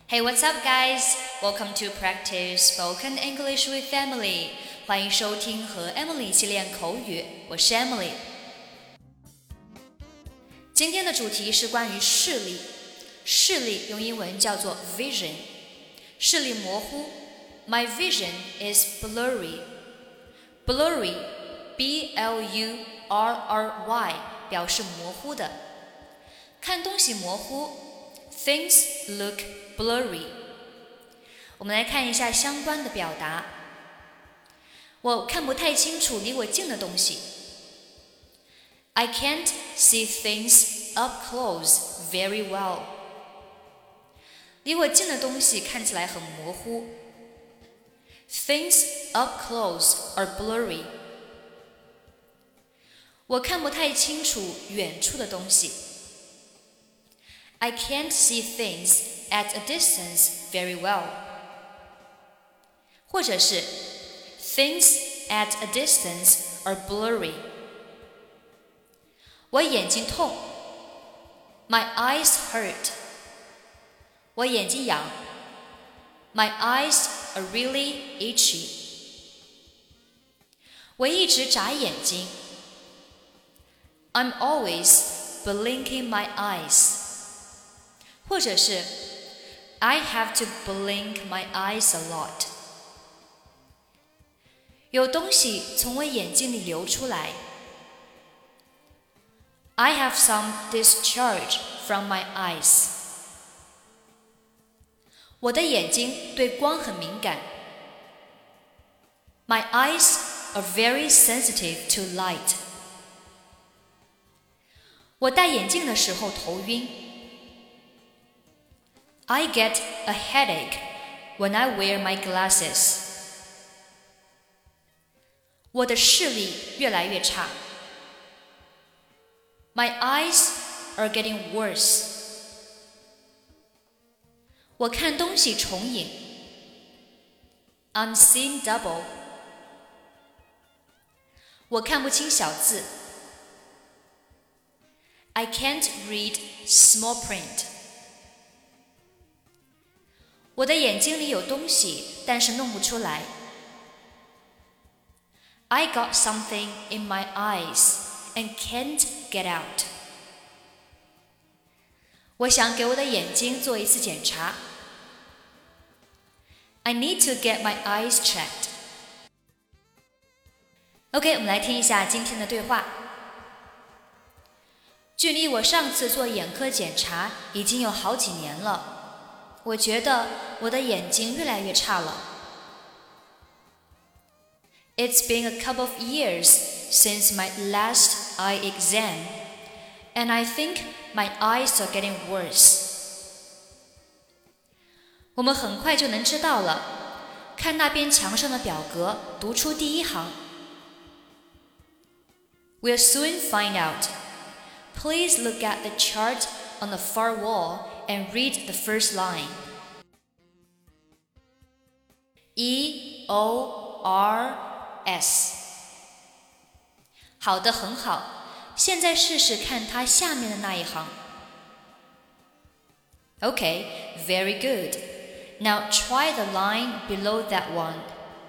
Hey, what's up, guys? Welcome to Practice Spoken English with Emily. 欢迎收听和 Emily 一起练口语，我是 Emily。今天的主题是关于视力，视力用英文叫做 vision， 视力模糊。My vision is blurry. Blurry, B-L-U-R-R-Y 表示模糊的，看东西模糊。Things look blurry. 我们来看一下相关的表达。我看不太清楚离我近的东西。I can't see things up close very well. 离我近的东西看起来很模糊。Things up close are blurry. 我看不太清楚远处的东西。I can't see things at a distance very well. 或者是 Things at a distance are blurry. 我眼睛痛。My eyes hurt. 我眼睛痒。My eyes are really itchy. 我一直眨眼睛。I'm always blinking my eyes. 或者是 I have to blink my eyes a lot. 有东西从我眼睛里流出来。I have some discharge from my eyes. 我的眼睛对光很敏感。My eyes are very sensitive to light. 我戴眼镜的时候头晕。I get a headache when I wear my glasses. 我的视力越来越差。My eyes are getting worse. 我看东西重影。I'm seeing double. 我看不清小字。I can't read small print. 我的眼睛里有东西，但是弄不出来。I got something in my eyes and can't get out. 我想给我的眼睛做一次检查。I need to get my eyes checked. OK, 我们来听一下今天的对话。距离我上次做眼科检查已经有好几年了。我觉得我的眼睛越来越差了。It's been a couple of years since my last eye exam, and I think my eyes are getting worse. 我们很快就能知道了，看那边墙上的表格，读出第一行。We'll soon find out. Please look at the chart on the far wall and read the first line. E-O-R-S. 好的，很好。现在试试看它下面的那一行。Okay, very good. Now try the line below that one.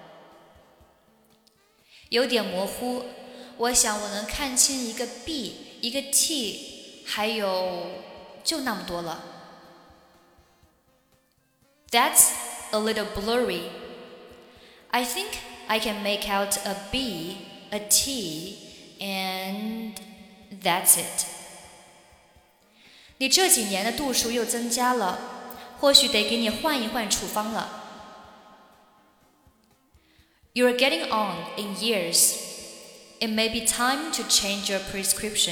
有点模糊，我想我能看清一个 B, 一个 T, 还有就那么多了。That's a little blurry. I think I can make out a B, a T, and that's it. 你这几年的度数又增加了，或许得给你换一换处方了。You're getting on in years. It may be time to change your prescription.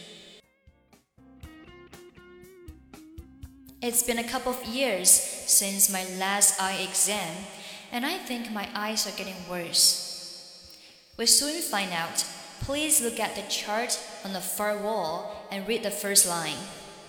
It's been a couple of years since my last eye exam, and I think my eyes are getting worse. We'll soon find out. Please look at the chart on the far wall and read the first line.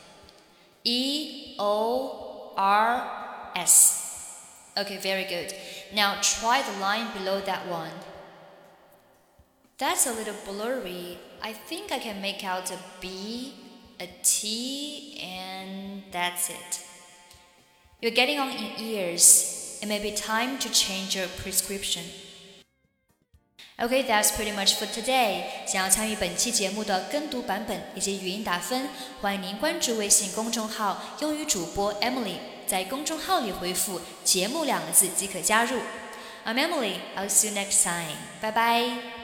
E-O-R-S. Okay, very good. Now try the line below that one. That's a little blurry. I think I can make out a B, a T, and that's it. You're getting on in years. It may be time to change your prescription. Okay, that's pretty much for today. 想要参与本期节目的跟读版本以及语音打分，欢迎您关注微信公众号英语主播 Emily， 在公众号里回复节目2个字即可加入。I'm Emily, I'll see you next time. Bye bye.